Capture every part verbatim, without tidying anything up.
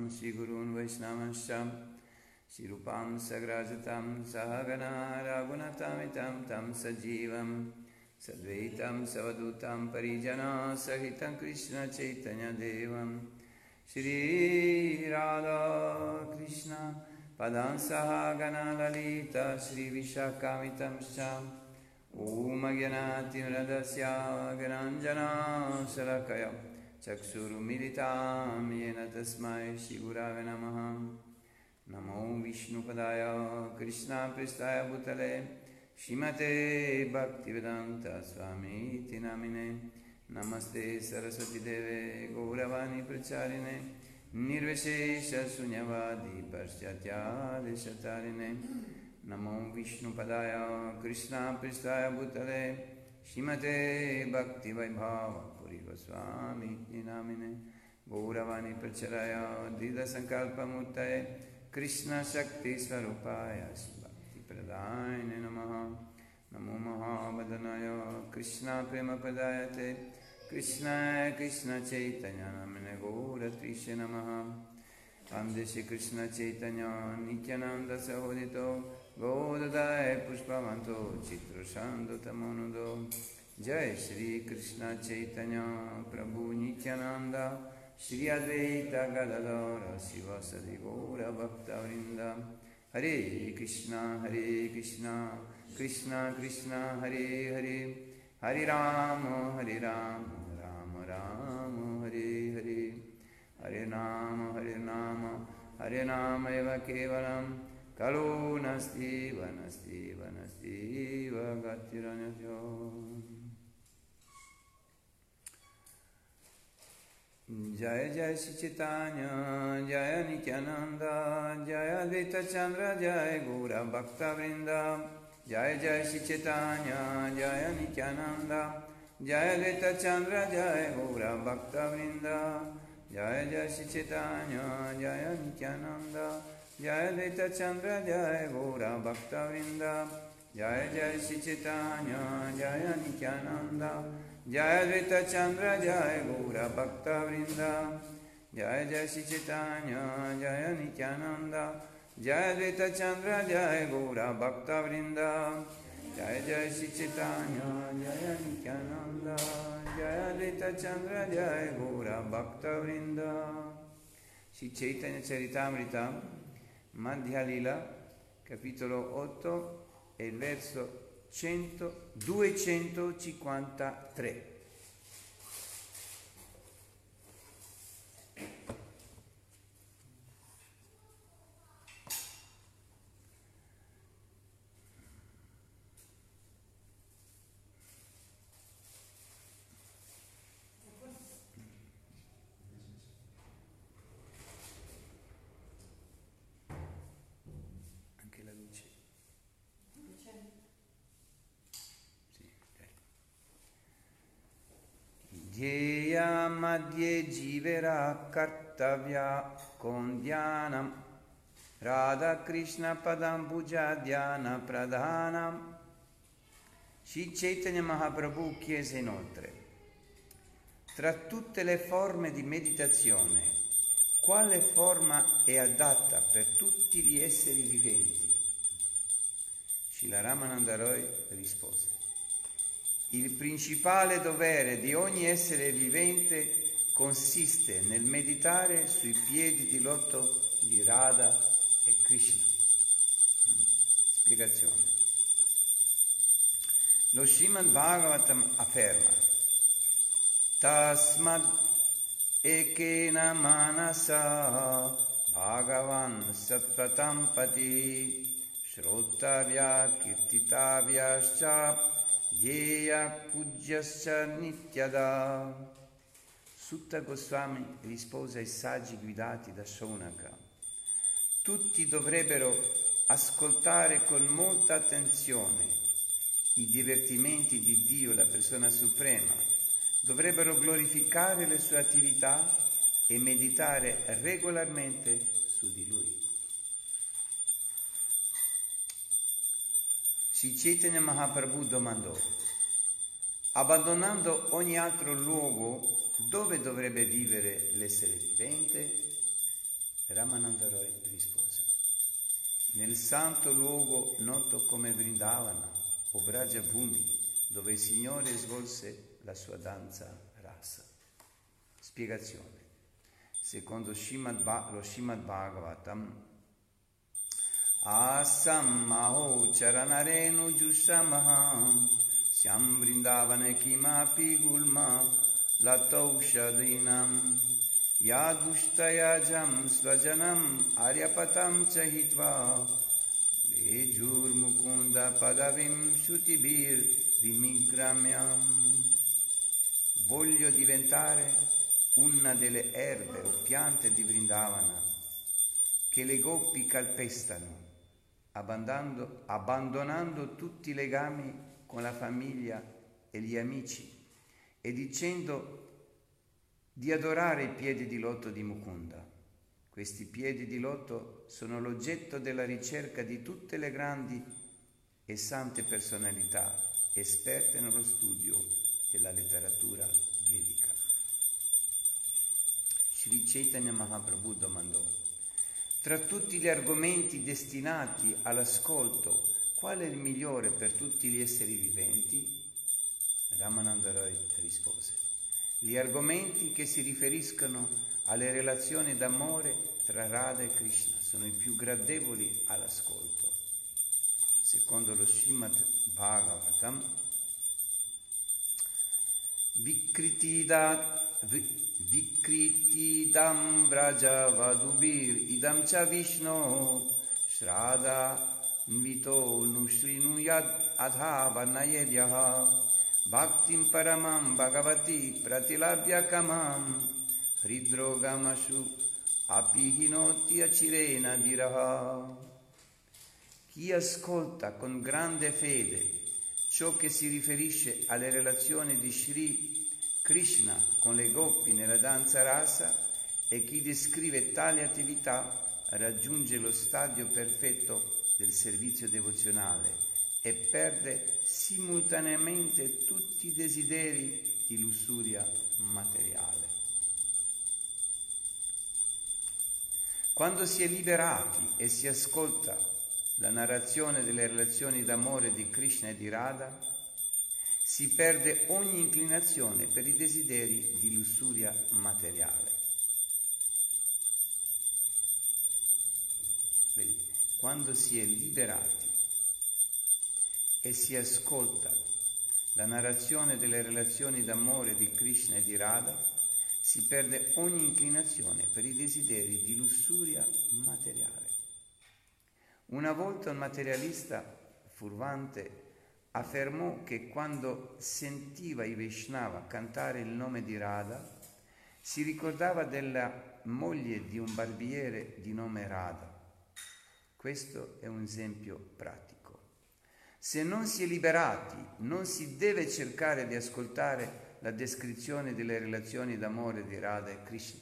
Sahagana Shri Gurun Vaishnavanscha Shri Rupam Sagrajatam Sahagana Raghunatamitam Tam Sajivam Sadvaitam Savadutam Parijana Sahitam Krishna Chaitanya Devam Shri Radha Krishna Padam Sahagana Lalita Shri Vishakamitam Sham Om Agyanati Radasya Granjana Salakaya Chakshuru Militam Yena Tasmai Shri Gurave Namaha Namo Vishnu Padaya Krishna Pristaya Bhutale Shrimate Bhaktivedanta Swami Iti Namine Namaste Saraswati Deve Gauravani Pracharine Nirveshesha Sunyavadi Paschatya Deshatarine Namo Vishnu Padaya Krishna Pristaya Bhutale Shrimate Bhakti Vaibhava Puri Goswami Namine Gauravani Pracharaya Dida Sankalpa Murtaye Krishna Shakti Swarupaya Bhakti Pradayane Namaha Namo Mahabhadanaya Krishna Prema Padayate Krishna Krishna Chaitanya Namine Gaura Trishe Namaha Vande Shri Krishna Chaitanya Nityananda Sahodito Gaudadaya Pushpavanto Chitrashando Tamonudo Jai Shri Krishna Chaitanya Prabhu Nityananda Shri Advaita Gadadara Sivasadi Gaura Bhakta Vrinda Hare Krishna Hare Krishna Krishna Krishna Hare Hare Hare Rama Hare Rama Rama Rama Hare Hare Hare Nama Hare Nama Hare Nama Eva Kevalam Kalu Nasti Vanasti Vanasti Vagatiranyatyo Jaya Jaya Shri Chaitanya Jaya Nityananda Jaya Advaita Chandra Jaya Gaura Bhakta Vrinda Jaya Jaya Shri Chaitanya Jaya Nityananda Jaya Advaita Chandra Jaya Gaura Bhakta Vrinda Jaya Jaya Shri Chaitanya Jaya Nityananda Jaya Advaita Chandra Jaya Gaura Bhakta Vrinda Jaya Jaya Shri Chaitanya Jaya Nityananda Jaya Advaita Chandra Jaya Gaura Bhakta Vrinda Jaya Jaya Shri Chaitanya Jaya Nityananda Jaya Advaita Chandra Jaya Gaura Bhakta Vrinda Jaya Jaya Shri Chaitanya Jaya Nityananda Jaya Advaita Chandra Jaya Gaura Bhakta Vrinda Shri Chaitanya Charitamrita Madhya Lila capitolo otto e il verso cento, duecentocinquantatré. Anche la luce. Dhyeya madhye jivera kartavya kondhyanam Radha Krishna padam puja dhyana pradhanam. Shri Chaitanya Mahaprabhu chiese inoltre: tra tutte le forme di meditazione, quale forma è adatta per tutti gli esseri viventi? Srila Ramananda Roy rispose: il principale dovere di ogni essere vivente consiste nel meditare sui piedi di loto di Radha e Krishna. Spiegazione. Lo Srimad Bhagavatam afferma: Tasmad ekena manasa Bhagavan sattvatam pati Shrottavya kirtitavyascha Dhyeya pujyascha nityada. Sutta Goswami rispose ai saggi guidati da Shaunaka: tutti dovrebbero ascoltare con molta attenzione i divertimenti di Dio, la persona suprema, dovrebbero glorificare le sue attività e meditare regolarmente su di Lui. Sri Chaitanya Mahaprabhu domandò: abbandonando ogni altro luogo, dove dovrebbe vivere l'essere vivente? Ramananda Roy rispose: nel santo luogo noto come Vrindavana o Vraja Bhumi, dove il Signore svolse la sua danza rasa. Spiegazione. Secondo Srimad Bha- lo Srimad Bhagavatam, Asam Maho Charanarenu Jushamaham Syam Vrindavana Kimapi Gulma Lataushadinam Yadushtayajam Svajanam Aryapatam Chahitva Vejur Mukunda Padavim Shutibir Vimigramyam. Voglio diventare una delle erbe o piante di Vrindavana che le goppi calpestano, abbandonando, abbandonando tutti i legami con la famiglia e gli amici e dicendo di adorare i piedi di loto di Mukunda. Questi piedi di loto sono l'oggetto della ricerca di tutte le grandi e sante personalità esperte nello studio della letteratura vedica. Sri Chaitanya Mahaprabhu domandò: tra tutti gli argomenti destinati all'ascolto, qual è il migliore per tutti gli esseri viventi? Ramananda Roy rispose: gli argomenti che si riferiscono alle relazioni d'amore tra Radha e Krishna sono i più gradevoli all'ascolto. Secondo lo Srimad Bhagavatam, Vikritidat Vikritidam Vraja Vadubir Idam Cha Vishnu Shraddha Nvito Nushrinuyad Adha Varnayedyaha Bhaktim Paramam Bhagavati Pratilabhya Kamam Hridrogamashu Apihinoti Acirena Diraha. Chi ascolta con grande fede ciò che si riferisce alle relazioni di Sri Krishna con le goppi nella danza rasa e chi descrive tali attività raggiunge lo stadio perfetto del servizio devozionale e perde simultaneamente tutti i desideri di lussuria materiale. Quando si è liberati e si ascolta la narrazione delle relazioni d'amore di Krishna e di Radha, si perde ogni inclinazione per i desideri di lussuria materiale. Quando si è liberati e si ascolta la narrazione delle relazioni d'amore di Krishna e di Radha, si perde ogni inclinazione per i desideri di lussuria materiale. Una volta un materialista furvante affermò che quando sentiva i Vaishnava cantare il nome di Radha, si ricordava della moglie di un barbiere di nome Radha. Questo è un esempio pratico. Se non si è liberati, non si deve cercare di ascoltare la descrizione delle relazioni d'amore di Radha e Krishna.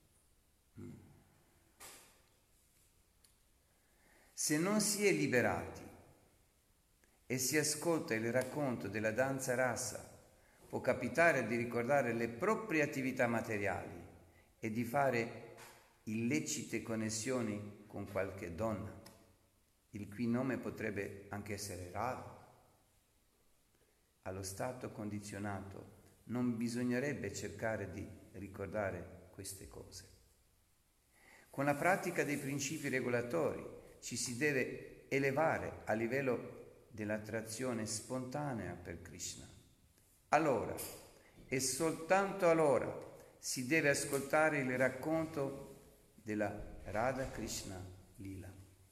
Se non si è liberati e si ascolta il racconto della danza rasa, può capitare di ricordare le proprie attività materiali e di fare illecite connessioni con qualche donna, il cui nome potrebbe anche essere Radha. Allo stato condizionato non bisognerebbe cercare di ricordare queste cose. Con la pratica dei principi regolatori ci si deve elevare a livello dell'attrazione spontanea per Krishna. Allora, e soltanto allora, si deve ascoltare il racconto della Radha Krishna Lila.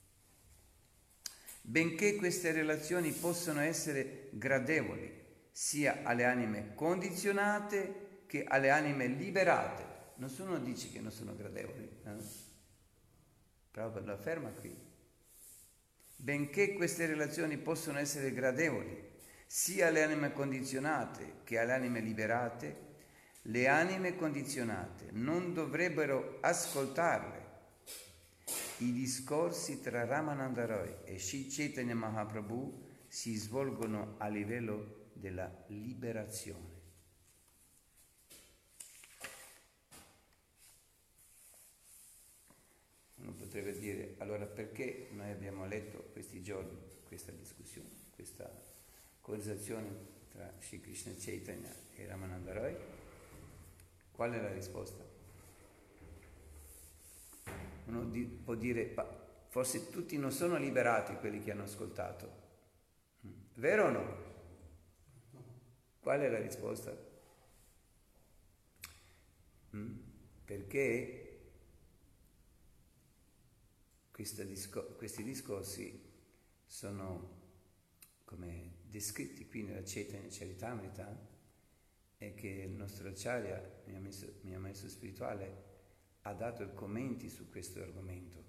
Benché queste relazioni possano essere gradevoli sia alle anime condizionate che alle anime liberate, nessuno dice che non sono gradevoli, eh? Prabhupada lo afferma qui. Benché queste relazioni possono essere gradevoli sia alle anime condizionate che alle anime liberate, le anime condizionate non dovrebbero ascoltarle. I discorsi tra Ramananda Roy e Sri Chaitanya Mahaprabhu si svolgono a livello della liberazione. potrebbe dire, allora perché noi abbiamo letto questi giorni questa discussione, questa conversazione tra Sri Krishna Chaitanya e Ramananda Roy? Qual è la risposta? Uno di, può dire, forse tutti non sono liberati quelli che hanno ascoltato. Vero o no? Qual è la risposta? Mm? Perché discor- questi discorsi sono come descritti qui nella Chaitanya Charitamrita, e che il nostro Acharya, mio maestro, mio maestro spirituale, ha dato i commenti su questo argomento.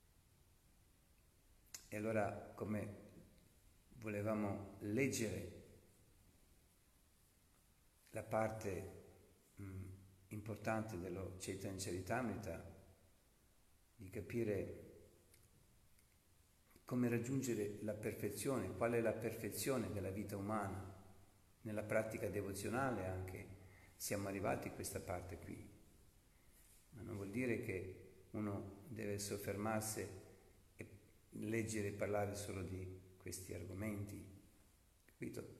E allora, come volevamo leggere la parte mh, importante dello Chaitanya Charitamrita, di capire come raggiungere la perfezione, qual è la perfezione della vita umana, nella pratica devozionale anche, siamo arrivati a questa parte qui. Ma non vuol dire che uno deve soffermarsi e leggere e parlare solo di questi argomenti, capito?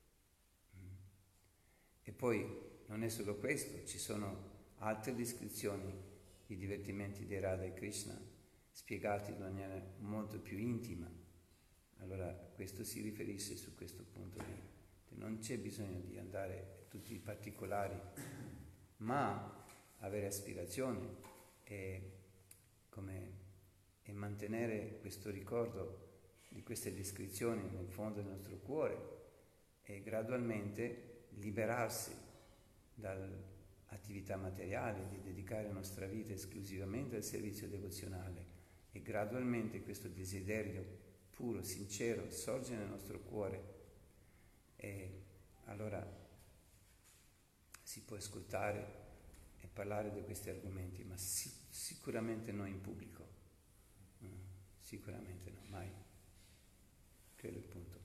E poi non è solo questo, ci sono altre descrizioni di divertimenti di Radha e Krishna spiegati in maniera molto più intima. Allora questo si riferisce su questo punto lì. Non c'è bisogno di andare a tutti i particolari, ma avere aspirazioni e, come, e mantenere questo ricordo di queste descrizioni nel fondo del nostro cuore e gradualmente liberarsi dall'attività materiale, di dedicare la nostra vita esclusivamente al servizio devozionale, e gradualmente questo desiderio puro, sincero, sorge nel nostro cuore. E allora si può ascoltare e parlare di questi argomenti, ma si, sicuramente non in pubblico, mm, sicuramente no, mai. Quello è il punto.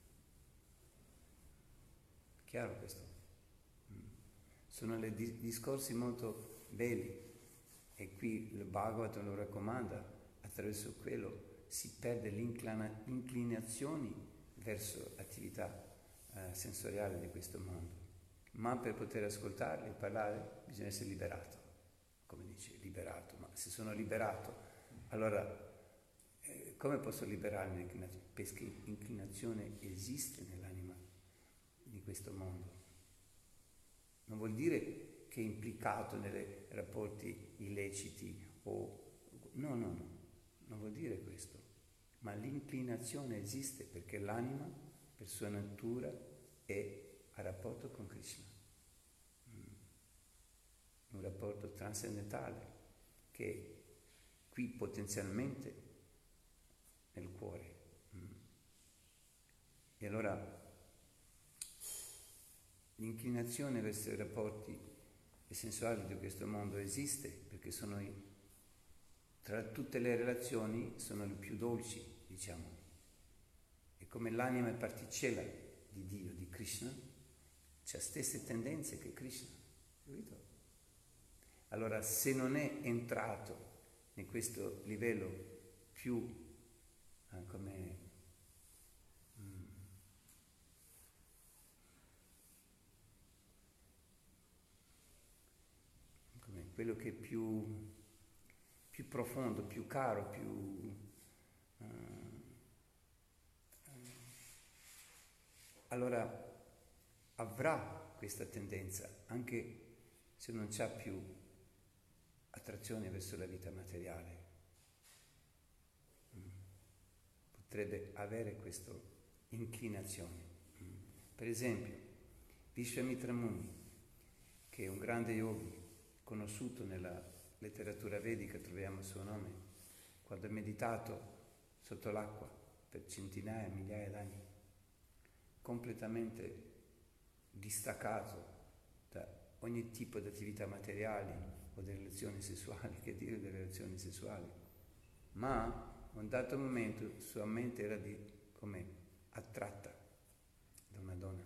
Chiaro questo? Mm. Sono dei di- discorsi molto belli, e qui il Bhagavatam lo raccomanda, attraverso quello si perde l'inclinazione verso l'attività Eh, sensoriale di questo mondo, ma per poter ascoltarli e parlare bisogna essere liberato, come dice, liberato. Ma se sono liberato, allora eh, come posso liberarmi dall'inclinazione? Perché inclinazione esiste nell'anima di questo mondo. Non vuol dire che è implicato nei rapporti illeciti o no, no, no, non vuol dire questo, ma l'inclinazione esiste perché l'anima per sua natura è a rapporto con Krishna, un rapporto trascendentale che è qui potenzialmente nel cuore. E allora l'inclinazione verso i rapporti sensuali di questo mondo esiste perché sono i, tra tutte le relazioni sono le più dolci, diciamo. E come l'anima è particella di Dio, di Krishna, c'ha stesse tendenze che Krishna, capito? Allora, se non è entrato in questo livello più eh, come, mm, come quello che è più, più profondo, più caro, più uh, allora avrà questa tendenza, anche se non c'ha più attrazione verso la vita materiale. Potrebbe avere questa inclinazione. Per esempio, Vishwamitra Muni, che è un grande yogi, conosciuto nella letteratura vedica, troviamo il suo nome, quando ha meditato sotto l'acqua per centinaia, migliaia d'anni, completamente distaccato da ogni tipo di attività materiali o di relazioni sessuali, che dire delle relazioni sessuali, ma a un dato momento sua mente era di, come attratta da una donna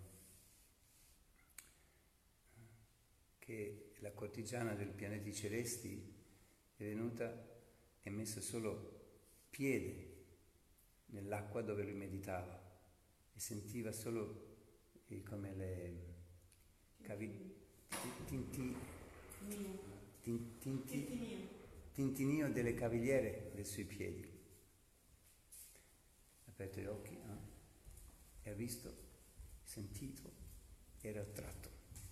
che la cortigiana dei pianeti celesti è venuta e messo solo piede nell'acqua dove lui meditava e sentiva solo eh, come le cavi, tinti, tinti, tinti, tintinio delle cavigliere dei suoi piedi. Ha aperto gli occhi eh? e ha visto, sentito, era attratto.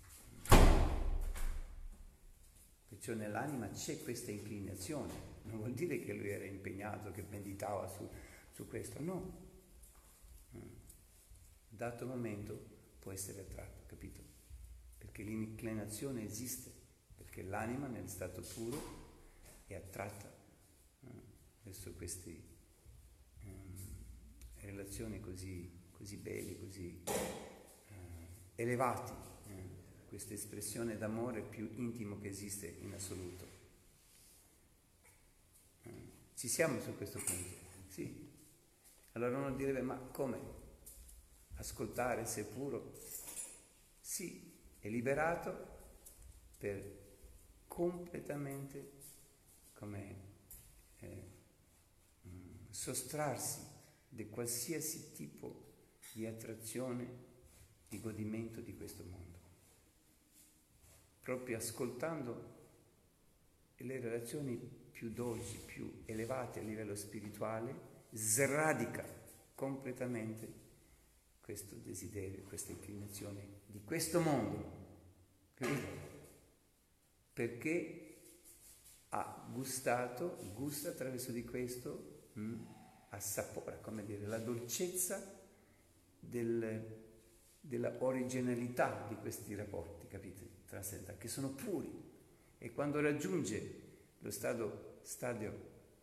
Perciò nell'anima c'è questa inclinazione, non vuol dire che lui era impegnato, che meditava su, su questo, no. Dato momento può essere attratto, capito? Perché l'inclinazione esiste, perché l'anima nel stato puro è attratta eh, verso queste eh, relazioni così, così belle, così eh, elevate, eh, questa espressione d'amore più intimo che esiste in assoluto. Eh, ci siamo su questo punto? Sì. Allora uno direbbe, ma come? Ascoltare se puro? Sì, è liberato per completamente come eh, mh, sostrarsi di qualsiasi tipo di attrazione, di godimento di questo mondo. Proprio ascoltando le relazioni più dolci, più elevate a livello spirituale, sradica completamente questo desiderio, questa inclinazione di questo mondo, capito? Perché ha gustato, gusta attraverso di questo, mh, assapora, come dire, la dolcezza del, della originalità di questi rapporti, capite? Trascendentali, che sono puri. E quando raggiunge lo stadio, stadio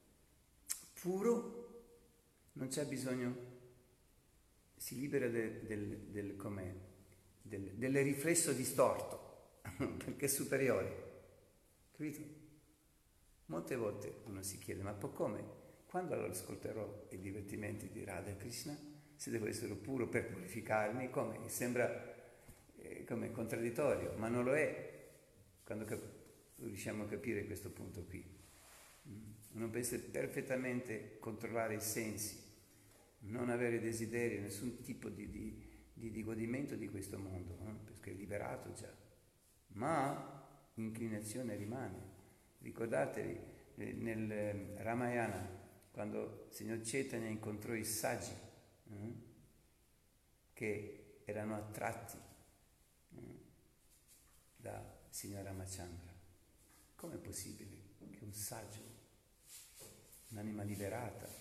puro, non c'è bisogno, si libera del, del, del, com'è, del, del riflesso distorto, perché è superiore, capito? Molte volte uno si chiede, ma poi come? Quando allora ascolterò i divertimenti di Radha e Krishna, se devo essere puro per purificarmi, come? Sembra eh, come contraddittorio, ma non lo è, quando cap- riusciamo a capire questo punto qui. Uno può essere perfettamente controllare i sensi, non avere desiderio, nessun tipo di, di, di, di godimento di questo mondo, no? Perché è liberato già, ma l'inclinazione rimane. Ricordatevi nel Ramayana, quando il signor Chaitanya incontrò i saggi eh, che erano attratti eh, da signor Ramachandra. Com'è possibile che un saggio, un'anima liberata,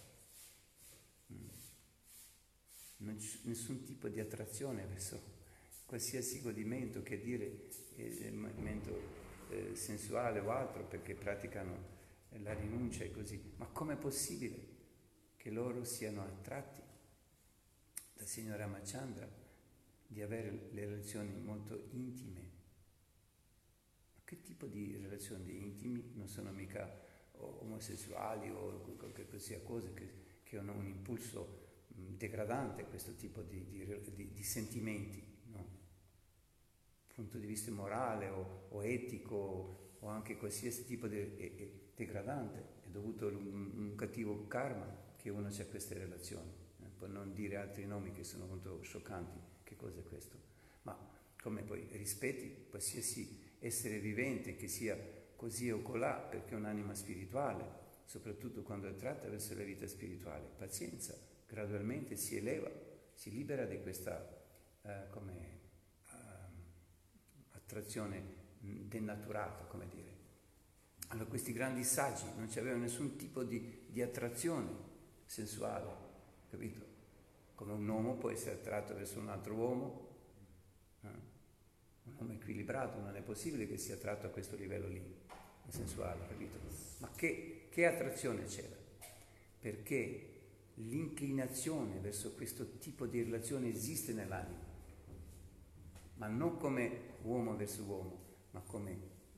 non c'è nessun tipo di attrazione verso qualsiasi godimento, che dire eh, movimento eh, sensuale o altro, perché praticano eh, la rinuncia e così. Ma com'è possibile che loro siano attratti dal signor Ramachandra, di avere le relazioni molto intime? Ma che tipo di relazioni intimi? Non sono mica omosessuali o qualche sia cosa che, che hanno un impulso degradante, questo tipo di, di, di, di sentimenti, no? Dal punto di vista morale o, o etico o anche qualsiasi tipo di è, è degradante, è dovuto a un, un cattivo karma che uno c'ha queste relazioni, eh? Per non dire altri nomi che sono molto scioccanti. Che cosa è questo? Ma come poi rispetti qualsiasi essere vivente, che sia così o colà, perché è un'anima spirituale, soprattutto quando è tratta verso la vita spirituale, pazienza. Gradualmente si eleva, si libera di questa eh, come, uh, attrazione denaturata, come dire. Allora questi grandi saggi non avevano nessun tipo di, di attrazione sensuale, capito? Come un uomo può essere attratto verso un altro uomo, eh? Un uomo equilibrato non è possibile che sia attratto a questo livello lì, sensuale, capito? Ma che, che attrazione c'era? Perché l'inclinazione verso questo tipo di relazione esiste nell'anima, ma non come uomo verso uomo, ma come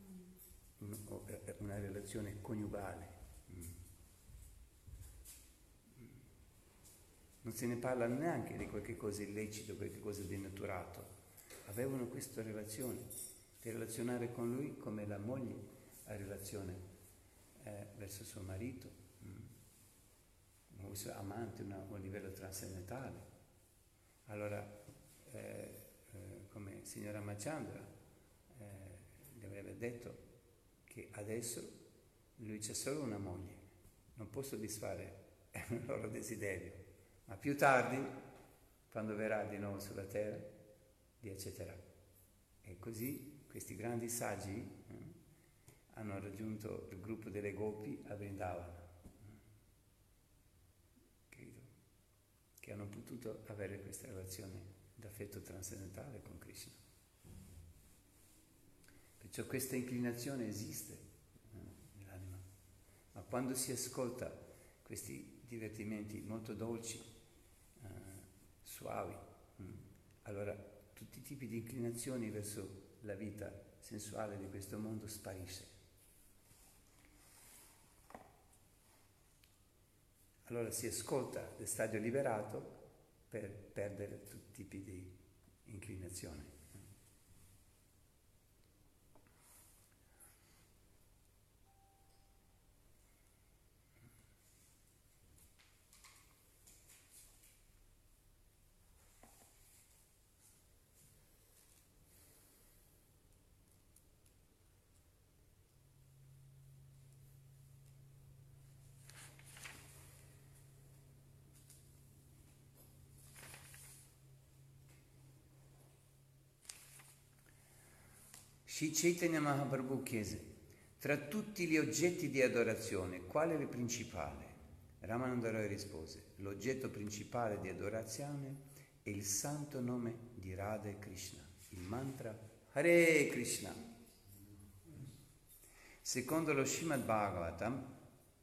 una relazione coniugale. Non se ne parla neanche di qualche cosa illecito, qualche cosa di denaturato. Avevano questa relazione, di relazionare con lui come la moglie ha relazione eh, verso suo marito, un suo amante una, a un livello trascendentale. Allora, eh, eh, come il signor Ramachandra eh, gli avrebbe detto che adesso lui c'è solo una moglie, non può soddisfare il loro desiderio, ma più tardi, quando verrà di nuovo sulla terra, li accetterà. E così questi grandi saggi eh, hanno raggiunto il gruppo delle Gopi a Vrindavana, che hanno potuto avere questa relazione d'affetto trascendentale con Krishna. Perciò questa inclinazione esiste eh, nell'anima, ma quando si ascolta questi divertimenti molto dolci, eh, suavi, mh, allora tutti i tipi di inclinazioni verso la vita sensuale di questo mondo sparisce. Allora si ascolta il stadio liberato per perdere tutti i tipi di inclinazione. Sri Chaitanya Mahaprabhu chiese: tra tutti gli oggetti di adorazione, qual è il principale? Ramananda Roy rispose: l'oggetto principale di adorazione è il santo nome di Radha e Krishna, il mantra Hare Krishna. Secondo lo Srimad Bhagavatam,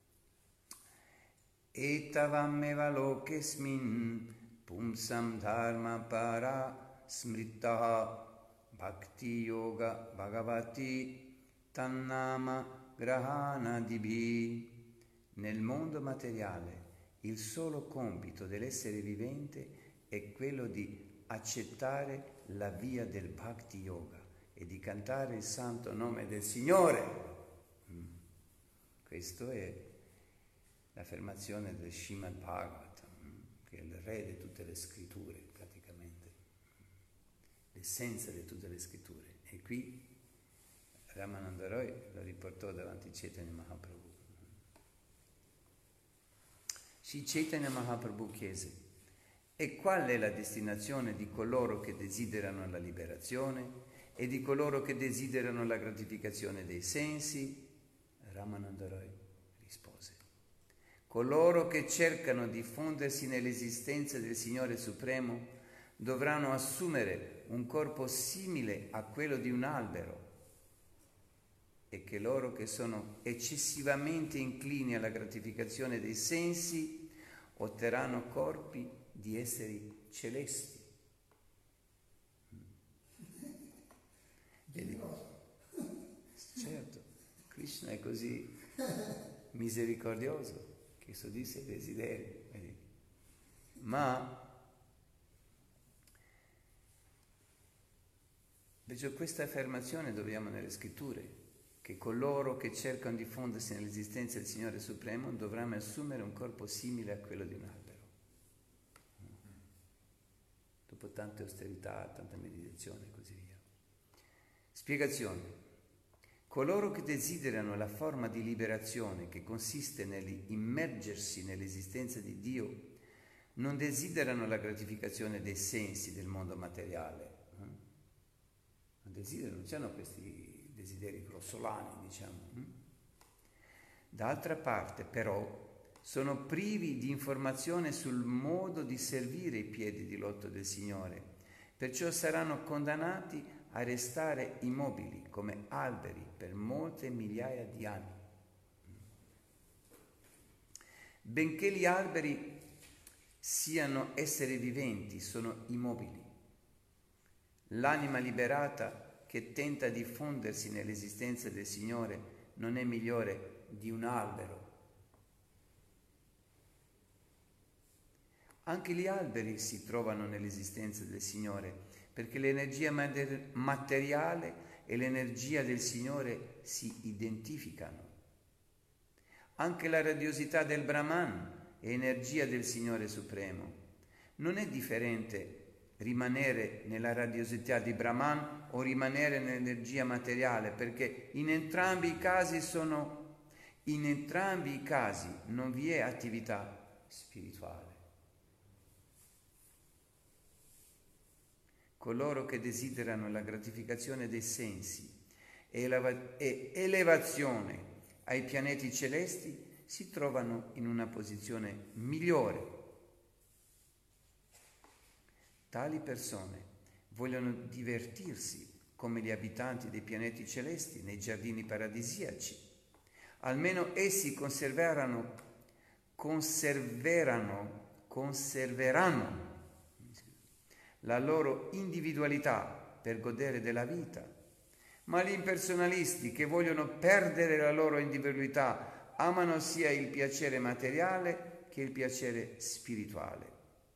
etavammeva lokesmin pumsam dharma para smrittaha Bhakti Yoga Bhagavati Tannama Grahana Dibhi. Nel mondo materiale il solo compito dell'essere vivente è quello di accettare la via del Bhakti Yoga e di cantare il santo nome del Signore. Mm. Questo è l'affermazione del Srimad Bhagavatam, mm, che è il re di tutte le scritture praticamente, l'essenza di tutte le scritture. E qui Ramananda Roy lo riportò davanti a Chaitanya Mahaprabhu. Sri Chaitanya Mahaprabhu chiese: e qual è la destinazione di coloro che desiderano la liberazione e di coloro che desiderano la gratificazione dei sensi? Ramananda Roy rispose: coloro che cercano di fondersi nell'esistenza del Signore Supremo dovranno assumere un corpo simile a quello di un albero, e che loro che sono eccessivamente inclini alla gratificazione dei sensi otterranno corpi di esseri celesti. E dico, certo, Krishna è così misericordioso che soddisfa i desideri, vedi? Ma invece questa affermazione troviamo nelle scritture, che coloro che cercano di fondersi nell'esistenza del Signore Supremo dovranno assumere un corpo simile a quello di un albero. Dopo tante austerità, tanta meditazione e così via. Spiegazione. Coloro che desiderano la forma di liberazione che consiste nell'immergersi nell'esistenza di Dio non desiderano la gratificazione dei sensi del mondo materiale. Non desiderano, non c'hanno questi desideri grossolani, diciamo. D'altra parte, però, sono privi di informazione sul modo di servire i piedi di loto del Signore, perciò saranno condannati a restare immobili come alberi per molte migliaia di anni. Benché gli alberi siano esseri viventi, sono immobili. L'anima liberata che tenta di fondersi nell'esistenza del Signore non è migliore di un albero. Anche gli alberi si trovano nell'esistenza del Signore, perché l'energia materiale e l'energia del Signore si identificano. Anche la radiosità del Brahman e energia del Signore Supremo. Non è differente rimanere nella radiosità di Brahman o rimanere nell'energia materiale, perché in entrambi i casi sono, in entrambi i casi non vi è attività spirituale. Coloro che desiderano la gratificazione dei sensi e, eleva- e elevazione ai pianeti celesti si trovano in una posizione migliore. Tali persone vogliono divertirsi come gli abitanti dei pianeti celesti nei giardini paradisiaci. Almeno essi conserveranno, conserveranno, conserveranno la loro individualità per godere della vita. Ma gli impersonalisti che vogliono perdere la loro individualità amano sia il piacere materiale che il piacere spirituale.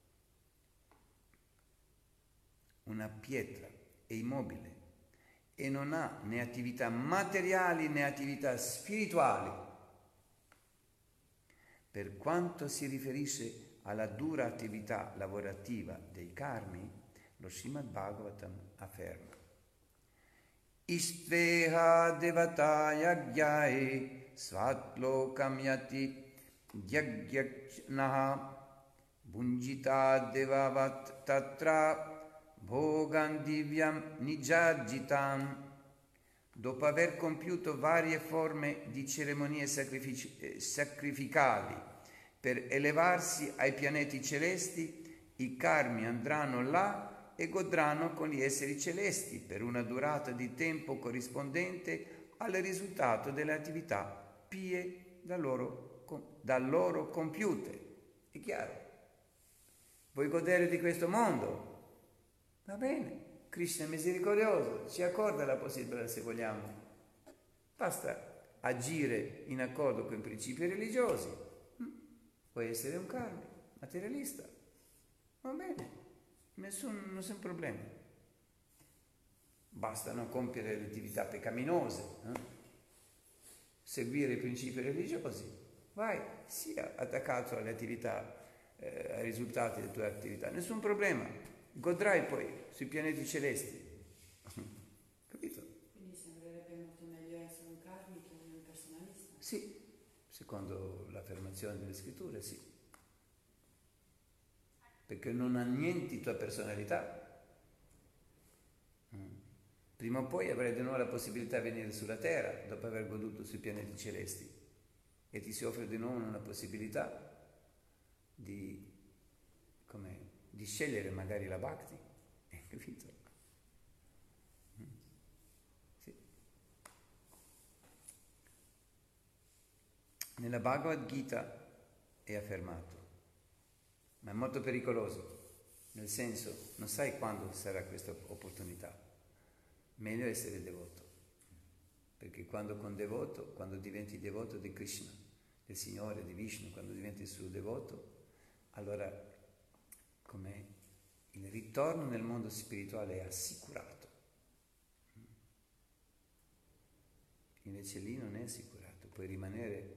Una pietra è immobile e non ha né attività materiali né attività spirituali. Per quanto si riferisce alla dura attività lavorativa dei karmi, lo Srimad Bhagavatam afferma: Istveha devata yagyai svatlokam yati yagyajnaha bunjita devavat tatra Bhogan Divyam Nijajjitam. Dopo aver compiuto varie forme di ceremonie sacrific- sacrificali per elevarsi ai pianeti celesti, i karmi andranno là e godranno con gli esseri celesti per una durata di tempo corrispondente al risultato delle attività pie da loro, da loro compiute. È chiaro? Vuoi godere di questo mondo? Va bene, Krishna è misericordioso, ci accorda la possibilità se vogliamo. Basta agire in accordo con i principi religiosi. Puoi essere un karmi, materialista. Va bene, nessun, nessun problema. Basta non compiere le attività peccaminose, eh? Seguire i principi religiosi. Vai, sia attaccato alle attività, eh, ai risultati delle tue attività, nessun problema. Godrai poi sui pianeti celesti. Capito? Quindi sembrerebbe molto meglio essere un karmi che un personalista. Sì, secondo l'affermazione delle scritture, sì. Perché non annienti tua personalità. Prima o poi avrai di nuovo la possibilità di venire sulla Terra dopo aver goduto sui pianeti celesti e ti si offre di nuovo una possibilità di, come, di scegliere magari la Bhakti, hai capito? Sì. Nella Bhagavad Gita è affermato, ma è molto pericoloso, nel senso, non sai quando sarà questa opportunità. Meglio essere devoto, perché quando con devoto, quando diventi devoto di Krishna, del Signore, di Vishnu, quando diventi il suo devoto, allora come il ritorno nel mondo spirituale è assicurato. Invece lì non è assicurato, puoi rimanere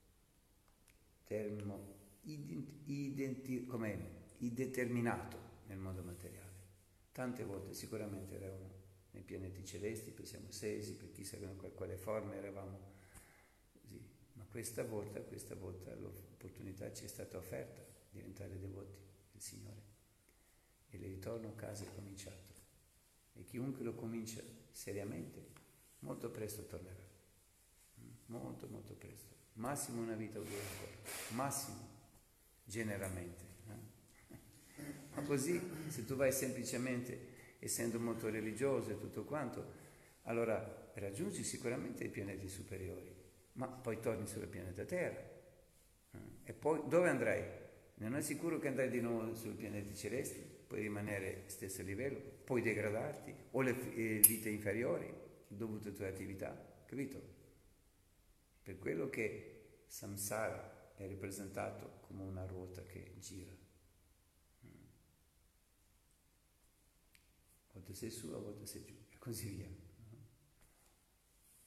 termo, identi, identi, com'è, indeterminato nel mondo materiale. Tante volte sicuramente eravamo nei pianeti celesti, pensiamo sesi, per chissà in quale forma eravamo così. Ma questa volta, questa volta l'opportunità ci è stata offerta di diventare devoti del Signore. E il ritorno a casa è cominciato. E chiunque lo comincia seriamente, molto presto tornerà. Molto, molto presto. Massimo una vita o due ancora. Massimo, generalmente. Eh? Ma così, se tu vai semplicemente essendo molto religioso e tutto quanto, allora raggiungi sicuramente i pianeti superiori, ma poi torni sul pianeta Terra. E poi dove andrai? Non è sicuro che andrai di nuovo sui pianeti celesti, puoi rimanere allo stesso livello, puoi degradarti, o le vite inferiori, dovute alle tue attività, capito? Per quello che samsara è rappresentato come una ruota che gira. A volte sei su, a volte sei giù, e così via.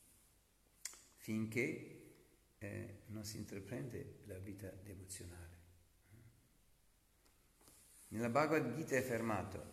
Finché eh, non si intraprende la vita devozionale. Nella Bhagavad Gita è affermato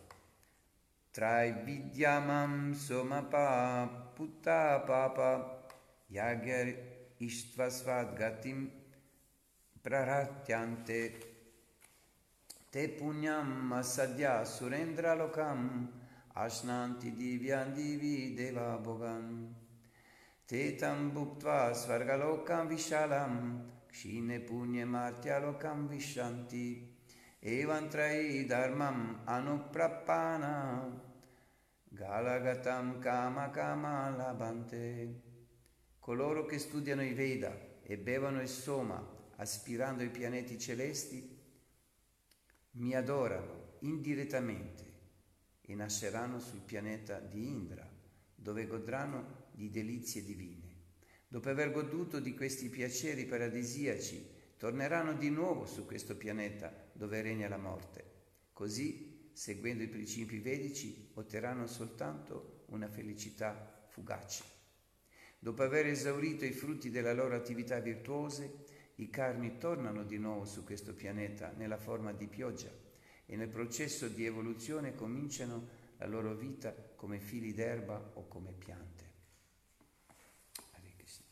Traividyamam somapa putta papa yagya ishtvasvad gatim praratyante te punyam asadya surendra lokam ashnanti divyan divi deva bhogan te tam bhuktva svargalokam vishalam kshine punye martya lokam vishanti evam trai dharmam anuprappana galagatam kama kama labante. Coloro che studiano i Veda e bevono il Soma aspirando ai pianeti celesti mi adorano indirettamente e nasceranno sul pianeta di Indra, dove godranno di delizie divine. Dopo aver goduto di questi piaceri paradisiaci, torneranno di nuovo su questo pianeta dove regna la morte. Così, seguendo i principi vedici, otterranno soltanto una felicità fugace. Dopo aver esaurito i frutti della loro attività virtuose, i karmi tornano di nuovo su questo pianeta nella forma di pioggia e nel processo di evoluzione cominciano la loro vita come fili d'erba o come piante. Hare Krishna.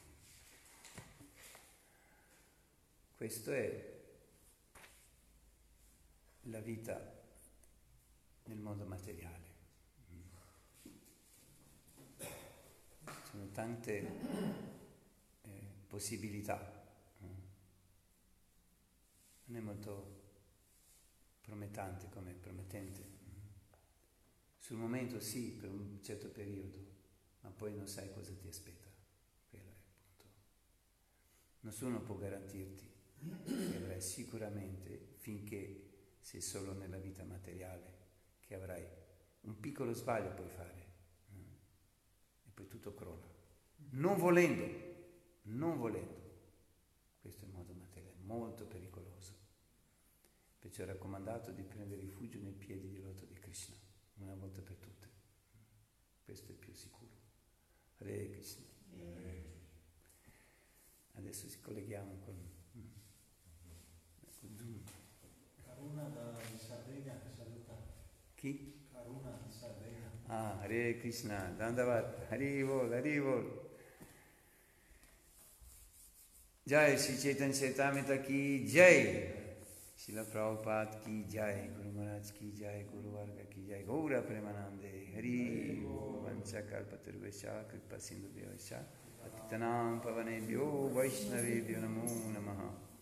Questo è la vita nel mondo materiale. Ci sono tante eh, possibilità. Non è molto promettente come promettente. Sul momento sì, per un certo periodo, ma poi non sai cosa ti aspetta. Quello è il punto. Nessuno può garantirti che avrai sicuramente, finché sei solo nella vita materiale, che avrai un piccolo sbaglio puoi fare e poi tutto crolla. Non volendo, non volendo. Questo è il modo materiale, molto pericoloso. Perciò è raccomandato di prendere rifugio nei piedi di loto di Krishna, una volta per tutte. Questo è più sicuro. Hare Krishna. Adesso ci colleghiamo con, con Zoom. Karuna da Sardegna che saluta. Chi? Karuna di Sardegna. Ah, Hare Krishna, Dandavat, Harivol, Harivol. Jai Shri Chaitanya Charitamrita ki Jai. Srila Prabhupada ki Jai, Guru Maharaj ki Jai, Guru Varga ki Jai, Gaura Premanande, Hari Vancha Kalpatarvesha, Kripa Sindhu Vyavasha, Patitanam Pavanebhyo, Vaishnavebhyo Namo Namaha.